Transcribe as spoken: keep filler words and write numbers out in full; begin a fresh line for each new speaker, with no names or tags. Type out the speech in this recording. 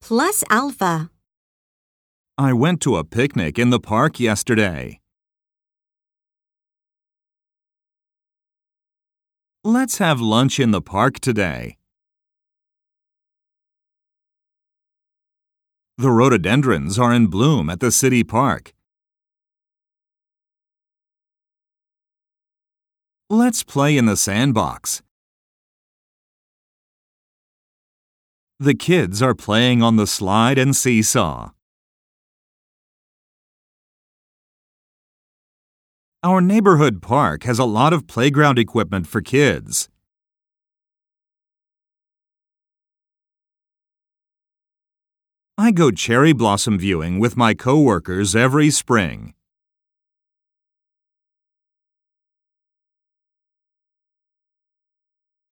plus alpha.
I went to a picnic in the park yesterday. Let's have lunch in the park today. The rhododendrons are in bloom at the city park. Let's play in the sandbox. The kids are playing on the slide and seesaw. Our neighborhood park has a lot of playground equipment for kids. I go cherry blossom viewing with my coworkers every spring.